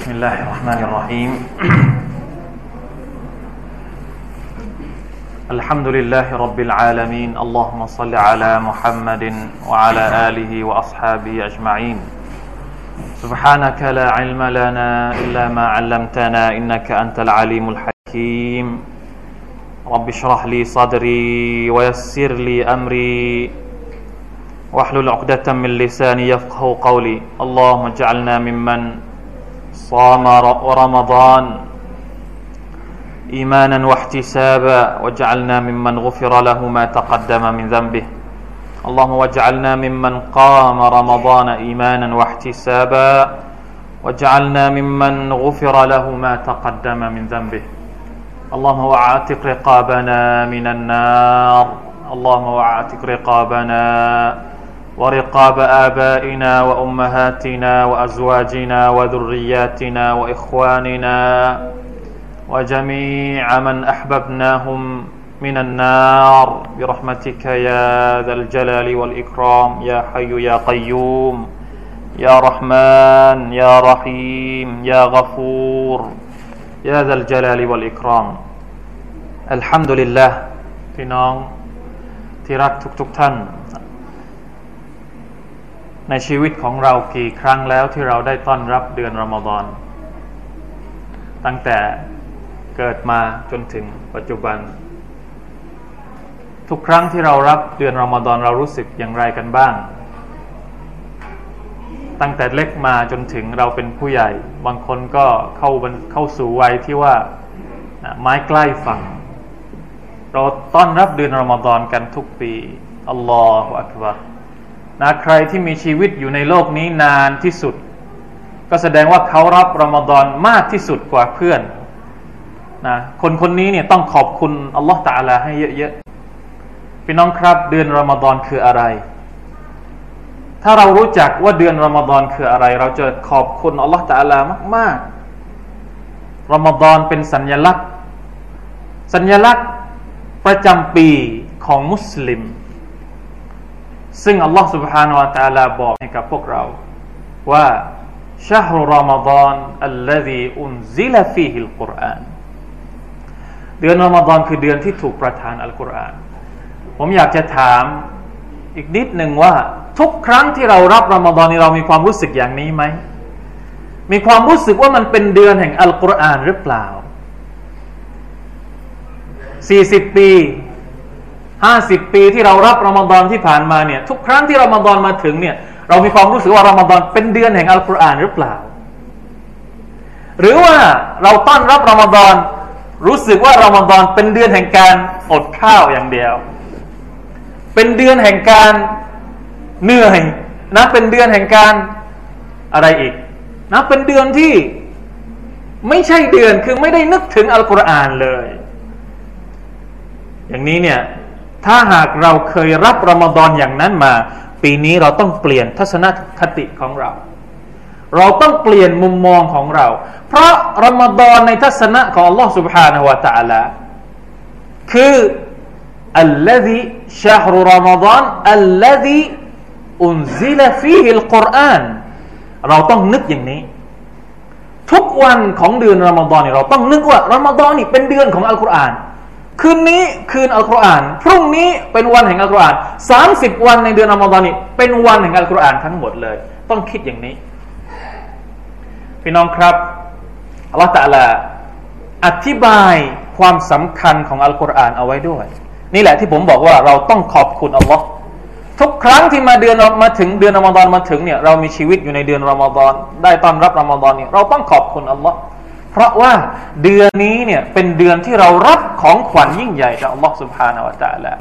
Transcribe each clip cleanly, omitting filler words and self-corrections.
بسم الله الرحمن الرحيم الحمد لله رب العالمين اللهم صل على محمد وعلى آله وأصحابه أجمعين سبحانك لا علم لنا إلا ما علمتنا إنك أنت العليم الحكيم رب اشرح لي صدري ويسر لي أمري واحلل عقدة من لساني يفقهوا قولي اللهم اجعلنا ممن صام رمضان إيمانا واحتسابا واجعلنا ممن غفر له ما تقدم من ذنبه اللهم واجعلنا ممن قام رمضان إيمانا واحتسابا واجعلنا ممن غفر له ما تقدم من ذنبه اللهم واعتق رقابنا من النار اللهم واعتق رقابنا ورقاب آبائنا وأمهاتنا وأزواجنا وذرياتنا وإخواننا وجميع من أحببناهم من النار برحمتك يا ذا الجلال والإكرام يا حي يا قيوم يا رحمن يا رحيم يا غفور يا ذا الجلال والإكرام الحمد لله พี่น้องที่รักทุกท่านในชีวิตของเรากี่ครั้งแล้วที่เราได้ต้อนรับเดือนรอมฎอนตั้งแต่เกิดมาจนถึงปัจจุบันทุกครั้งที่เรารับเดือนรอมฎอนเรารู้สึกอย่างไรกันบ้างตั้งแต่เล็กมาจนถึงเราเป็นผู้ใหญ่บางคนก็เข้าสู่วัยที่ว่าไม้ใกล้ฝั่งเราต้อนรับเดือนรอมฎอนกันทุกปีอัลลอฮฺอักบัรนะใครที่มีชีวิตอยู่ในโลกนี้นานที่สุดก็แสดงว่าเขารับรอมฎอนมากที่สุดกว่าเพื่อนนะคนนี้เนี่ยต้องขอบคุณอัลลอฮฺตะอาลาให้เยอะๆพี่น้องครับเดือนรอมฎอนคืออะไรถ้าเรารู้จักว่าเดือนรอมฎอนคืออะไรเราจะขอบคุณอัลลอฮฺตะอาลามากๆรอมฎอนเป็นสัญลักษณ์ประจำปีของมุสลิมซึ่งอัลลอฮฺ سبحانه และ تعالى บอกให้กับพวกเราว่าชะฮรุรอมฎอนอัลลซีอุนซิลฟีฮิลกุรอานเดือนรอมฎอนคือเดือนที่ถูกประทานอัลกุรอานผมอยากจะถามอีกนิดหนึ่งว่าทุกครั้งที่เรารับรอมฎอนนี้เรามีความรู้สึกอย่างนี้ไหมมีความรู้สึกว่ามันเป็นเดือนแห่งอัลกุรอานหรือเปล่า40 ปี50 ปีที่เรารับรอมฎอนที่ผ่านมาเนี่ยทุกครั้งที่รอมฎอนมาถึงเนี่ยเรามีความรู้สึกว่ารอมฎอนเป็นเดือนแห่งอัลกุรอานหรือเปล่าหรือว่าเราต้อนรับรอมฎอนรู้สึกว่ารอมฎอนเป็นเดือนแห่งการอดข้าวอย่างเดียวเป็นเดือนแห่งการเหนื่อยนะเป็นเดือนแห่งการอะไรอีกนะเป็นเดือนที่ไม่ใช่เดือนคือไม่ได้นึกถึงอัลกุรอานเลยอย่างนี้เนี่ยถ้าหากเราเคยรับรอมฎอนอย่างนั้นมาปีนี้เราต้องเปลี่ยนทัศนคติของเราต้องเปลี่ยนมุมมองของเราเพราะรอมฎอนในทัศนะของ Allah سبحانه และ تعالى คืออัลลซีชะฮรุรอมฎอนอัลลซีอุนซิลฟีฮิลกุรอานเราต้องนึกอย่างนี้ทุกวันของเดือนรอมฎอนเราต้องนึกว่ารอมฎอนนี่เป็นเดือนของอัลกุรอานคืนนี้คืนอัลกุรอานพรุ่งนี้เป็นวันแห่งอัลกุรอาน30 วันในเดือนรอมฎอนนี้เป็นวันแห่งอัลกุรอานทั้งหมดเลยต้องคิดอย่างนี้พี่น้องครับอัลเลาะห์ตะอาลาอธิบายความสำคัญของอัลกุรอานเอาไว้ด้วยนี่แหละที่ผมบอกว่าเราต้องขอบคุณอัลเลาะห์ทุกครั้งที่มาถึงเดือนรอมฎอนมาถึงเนี่ยเรามีชีวิตอยู่ในเดือนรอมฎอนได้ต้อนรับรอมฎอนเนี่ยเราต้องขอบคุณอัลเลาะห์เพราะว่าเดือนนี้เนี่ยเป็นเดือนที่เรารับของขวัญยิ่งใหญ่จากอัลลอฮฺ سبحانه และ تعالى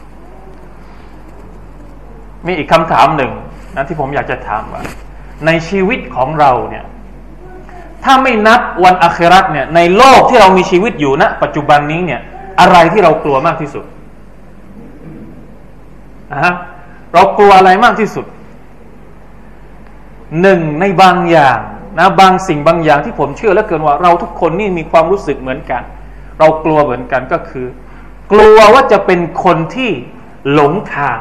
มีอีกคำถามหนึ่งนะที่ผมอยากจะถามว่าในชีวิตของเราเนี่ยถ้าไม่นับวันอาคิเราะห์เนี่ยในโลกที่เรามีชีวิตอยู่ณปัจจุบันนี้เนี่ยอะไรที่เรากลัวมากที่สุดเรากลัวอะไรมากที่สุดหนึ่งในบางอย่างนะบางสิ่งบางอย่างที่ผมเชื่อเหลือเกินว่าเราทุกคนนี่มีความรู้สึกเหมือนกันเรากลัวเหมือนกันก็คือกลัวว่าจะเป็นคนที่หลงทาง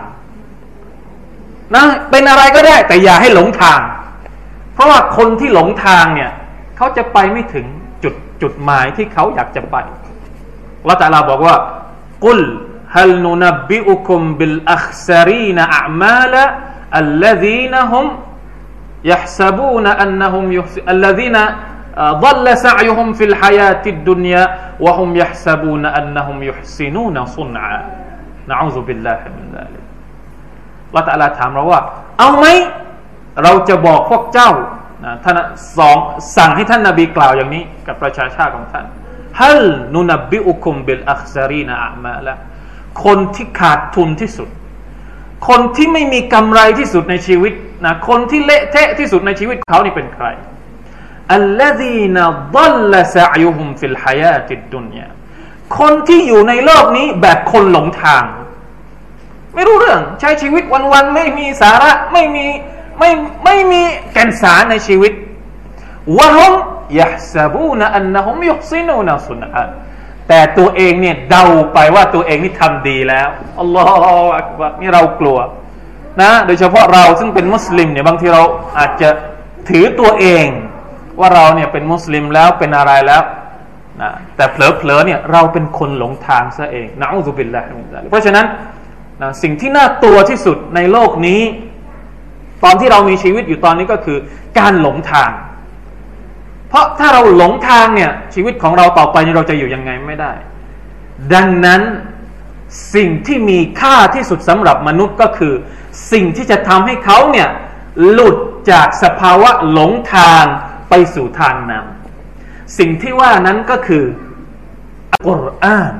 นะเป็นอะไรก็ได้แต่อย่าให้หลงทาง เพราะว่าคนที่หลงทางเนี่ยเขาจะไปไม่ถึงจุดหมายที่เขาอยากจะไปอัลเลาะห์ตะอาลาบอกว่ากุลฮัลนุนับบิอุคุมบิลอัคซารีนอะอ์มาลอัลลซีนฮุมيحسبون أنهم الذين ضل سعيهم في الحياة الدنيا وهم يحسبون أنهم يحسنون صنعا نعوذ بالله من ذلك อัลเลาะห์ตะอาลาถามเราว่าเอาไหมเราจะบอกพวกเจ้าท่านสั่งให้ท่านนบีกล่าวอย่างนี้กับประชาชาติของท่านฮัลนุนับบิอุคุมบิลอัคซารีนอะอ์มาละคนที่ขาดทุนที่สุดคนที่ไม่มีกำไรที่สุดในชีวิตนะคนที่เละเทะที่สุดในชีวิตเขานี่เป็นใครอัลลซีนดัลลซะอยุฮุมฟิลฮายาติดดุนยาคนที่อยู่ในโลกนี้แบบคนหลงทางไม่รู้เรื่องใช้ชีวิตวันๆไม่มีสาระไม่มีแก่นสารในชีวิตวะฮุมยะฮซะบูนอันนะฮุมยุฮซินูนซุนอะแต่ตัวเองเนี่ยเดาไปว่าตัวเองนี่ทำดีแล้วอัลลอฮฺอักบัรนี่เรากลัวนะโดยเฉพาะเราซึ่งเป็นมุสลิมเนี่ยบางทีเราอาจจะถือตัวเองว่าเราเนี่ยเป็นมุสลิมแล้วเป็นอะไรแล้วนะแต่เผลอๆเนี่ยเราเป็นคนหลงทางซะเองนะอูซุบิลลาฮิมินซาลิกเพราะฉะนั้นนะสิ่งที่น่ากลัวที่สุดในโลกนี้ตอนที่เรามีชีวิตอยู่ตอนนี้ก็คือการหลงทางเพราะถ้าเราหลงทางเนี่ยชีวิตของเราต่อไปเราจะอยู่ยังไงไม่ได้ดังนั้นสิ่งที่มีค่าที่สุดสำหรับมนุษย์ก็คือสิ่งที่จะทำให้เขาเนี่ยหลุดจากสภาวะหลงทางไปสู่ทางนำสิ่งที่ว่านั้นก็คืออัลกุรอาน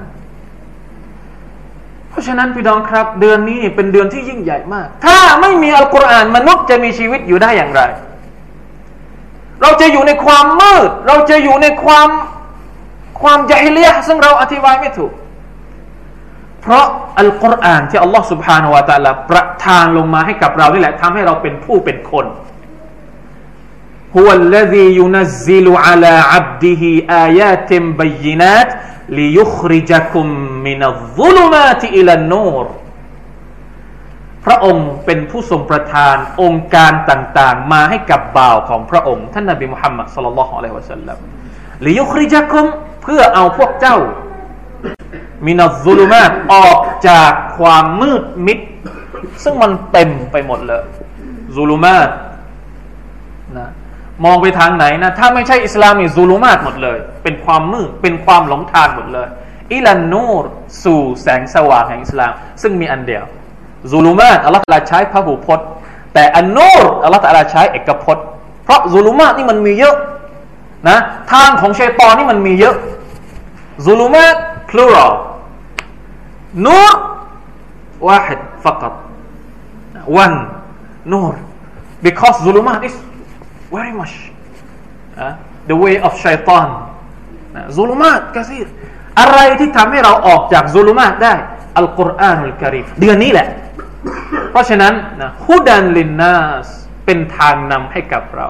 เพราะฉะนั้นพี่น้องครับเดือนนี้เป็นเดือนที่ยิ่งใหญ่มากถ้าไม่มีอัลกุรอานมนุษย์จะมีชีวิตอยู่ได้อย่างไรเราจะอยู่ในความมืดเราจะอยู่ในความญะฮิลิยะห์ซึ่งเราอธิบายไม่ถูกเพราะอัลกุรอานที่อัลลอฮฺ سبحانه และ تعالى ประทานลงมาให้กับเรานี่แหละทำให้เราเป็นผู้เป็นคนฮุวัลลซียุนัซซิลุอะลาอับดิฮิอายาติมบัยนาตลิยุคริจกุมมินัซซุลุมาติอิลันนูรพระองค์เป็นผู้ทรงประทานองค์การต่างๆมาให้กับบ่าวของพระองค์ท่านนบีมุฮัมมัดศ็อลลัลลอฮุอะลัยฮิวะซัลลัมลิยุคริจกุมเพื่อเอาพวกเจ้ามินัซซุลุมาตออกจากความมืดมิดซึ่งมันเต็มไปหมดเลยซุลุมาตนะมองไปทางไหนนะถ้าไม่ใช่อิสลามนี่ซุลุมาตหมดเลยเป็นความมืดเป็นความหลงทางหมดเลยอิลันนูรสู่แสงสว่างแห่งอิสลามซึ่งมีอันเดียวซุลุมาตอัลเลาะห์ตะอาลาใช้พหูพจน์แต่อันนูรอัลเลาะห์ตะอาลาใช้เอกพจน์เพราะซุลุมาตนี่มันมีเยอะนะทางของชัยฏอนนี่มันมีเยอะซุลุมาต plural นูร واحد فقط one นูร because ซุลุมาต is very much the way of ชัยฏอนซุลุมาตกะซีรอะไรที่ทำให้เราออกจากซุลุมาตได้อัลกุรอานุลกะรีมเดือนนี้แหละเพราะฉะนั้นนะฮุดันลินนัสเป็นทางนำให้กับเรา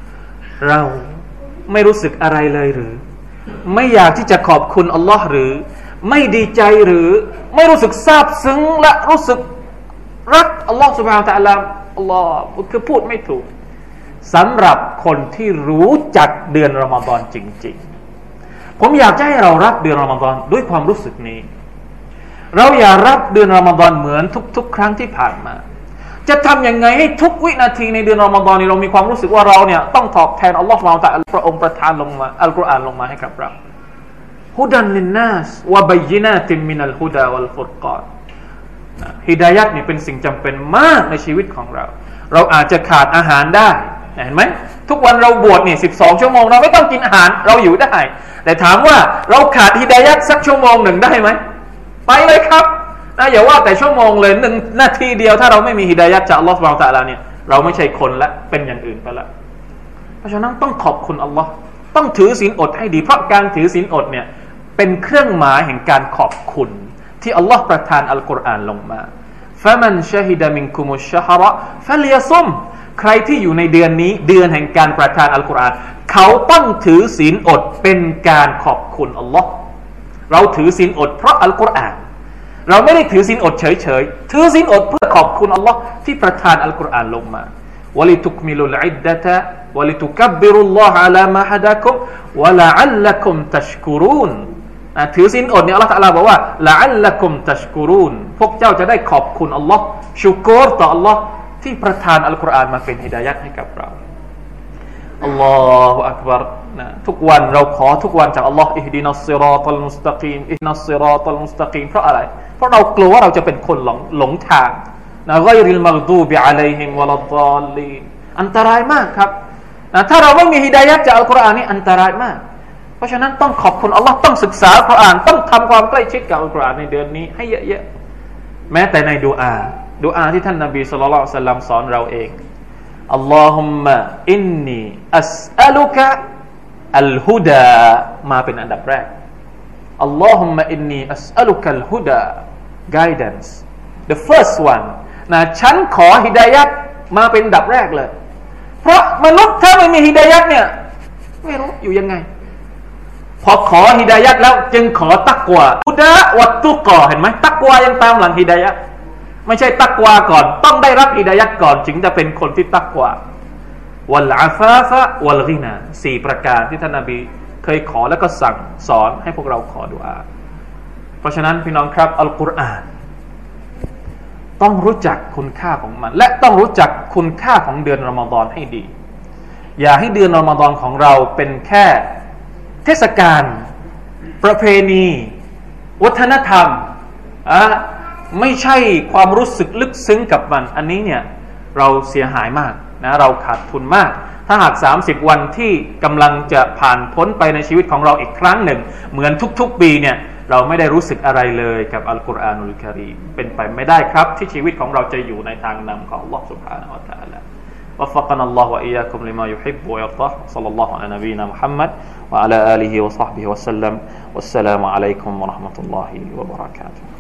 ไม่รู้สึกอะไรเลยหรือไม่อยากที่จะขอบคุณอัลลอฮ์หรือไม่ดีใจหรือไม่รู้สึกซาบซึ้งและรู้สึกรักอัลลอฮ์ سبحانه และ تعالى อัลลอฮ์คือพูดไม่ถูกสำหรับคนที่รู้จักเดือนรอมฎอนจริงๆผมอยากให้เรารับเดือนรอมฎอนด้วยความรู้สึกนี้เราอย่ารับเดือนรอมฎอนเหมือนทุกๆครั้งที่ผ่านมาจะทำยังไงให้ทุกวินาทีในเดือนรอมฎอนนี้เรามีความรู้สึกว่าเราเนี่ยต้องตอบแทนอัลลอฮฺซุบฮานะฮูวะตะอาลาพระองค์ประทานลงมาอัลกุรอานลงมาให้กับเราฮุดันลินนัสวะบัยยินาติมินัลฮุดาวัลฟุรกานฮิดายัตนี่เป็นสิ่งจำเป็นมากในชีวิตของเราอาจจะขาดอาหารได้เห็นไหมทุกวันเราบวชนี่12 ชั่วโมงเราไม่ต้องกินอาหารเราอยู่ได้แต่ถามว่าเราขาดฮิดายัตสักชั่วโมงหนึ่งได้ไหมไปเลยครับนะอย่าว่าแต่ชั่วโมงเลย1 นาทีเดียวถ้าเราไม่มีฮิดายัตจากอัลลอฮฺซุบฮานะฮูวะตะอาลาเนี่ยเราไม่ใช่คนละเป็นอย่างอื่นไปละเพราะฉะนั้นต้องขอบคุณอัลลอฮ์ต้องถือศีลอดให้ดีเพราะการถือศีลอดเนี่ยเป็นเครื่องหมายแห่งการขอบคุณที่อัลลอฮ์ประทานอัลกุรอานลงมาฟะมันชะฮิดะมินกุมุชชะฮรฟัลยะซุมใครที่อยู่ในเดือนนี้เดือนแห่งการประทานอัลกุรอานเขาต้องถือศีลอดเป็นการขอบคุณอัลลอฮ์เราถือศีลอดเพราะอัลกุรอานเราไม่ได้ถือศีลอดเฉยๆถือศีลอดเพื่อขอบคุณอัลลอฮ์ที่ประทานอัลกุรอานลงมาวะลิตุกมิลุลอิดดะตะวะลิตุกับบบิรุลลอฮะอะลามาฮะดะกุมวะละอัลลักุมตัชกุรูนถือศีลอดเนี่ยอัลเลาะห์ตะอาลาบอกว่าละอัลลักุมตัชกุรูนพวกเจ้าจะได้ขอบคุณอัลลอฮ์ชุกรต่ออัลลอฮ์ที่ประทานอัลกุรอานมาเป็นฮิดายัตให้กับเราอัลลอฮฺอักบัรนะทุกวันเราขอทุกวันจากอัลลอฮ์อิฮดินัสซิรอตัลมุสตะกีมอิฮดินัสซิรอตัลมุสตะกีมเพราะอะไรเพราะเรากลัวว่าเราจะเป็นคนหลงทางนะฆอยริลมัฆฎูบิอะลัยฮิมวะลัดฎอลลีนอันตรายมากครับนะถ้าเราไม่มีฮิดายัตจากอัลกุรอานนี่อันตรายมากเพราะฉะนั้นต้องขอบคุณอัลลอฮ์ต้องศึกษาอัลกุรอานต้องทำความใกล้ชิดกับอัลกุรอานในเดือนนี้ให้เยอะๆแม้แต่ในดุอาที่ท่านนบีศ็อลลัลลอฮุอะลัยฮิวะซัลลัมสอนเราเองอัลลอฮุมมะอินนีอัสอะลุกะอัลฮุดามาเป็นอันดับแรกอัลลอฮุมมะอินนีอัสอะลุกะอัลฮุดา guidance the first one นะฉันขอฮิดายัตมาเป็นอันดับแรกเลยเพราะมนุษย์ถ้าไม่มีฮิดายัตเนี่ยไม่รู้อยู่ยังไงพอขอฮิดายัตแล้วจึงขอตักวาฮุดาวัตตุกอเห็นไหมตักวายังตามหลังฮิดายัตไม่ใช่ตักวาก่อนต้องได้รับฮิดายัตก่อนจึงจะเป็นคนที่ตักวาวัลอาฟาฟะวัลกินา4ประการที่ท่านนบีเคยขอแล้วก็สั่งสอนให้พวกเราขอดุอาเพราะฉะนั้นพี่น้องครับอัลกุรอานต้องรู้จักคุณค่าของมันและต้องรู้จักคุณค่าของเดือนรอมฎอนให้ดีอย่าให้เดือนรอมฎอนของเราเป็นแค่เทศกาลประเพณีวัฒนธรรมไม่ใช่ความรู้สึกลึกซึ้งกับมันอันนี้เนี่ยเราเสียหายมากนะเราขาดทุนมากถ้าหาก30วันที่กำลังจะผ่านพ้นไปในชีวิตของเราอีกครั้งหนึ่งเหมือนทุกๆปีเนี่ยเราไม่ได้รู้สึกอะไรเลยกับอัลกุรอานุลกะรีมเป็นไปไม่ได้ครับที่ชีวิตของเราจะอยู่ในทางนำของอัลลอฮฺ سبحانه และ تعالى وفقنا الله وإياكم لما يحب ويرضاه صلى الله على نبينا محمد وعلى آله وصحبه وسلم والسلام عليكم ورحمة الله وبركاته